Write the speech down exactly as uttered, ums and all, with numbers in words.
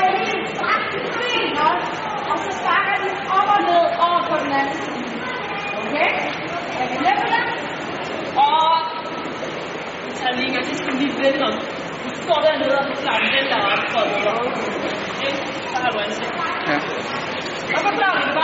jeg lige stræk til ben også, og så sparker de op og ned over på den anden side. Okay? Er vi med på det? Og Talika, det skal lige vende om. Du står dernede og forklarer den der op for dig. Okay? Så har du ansigt. Ja. Og forklarer du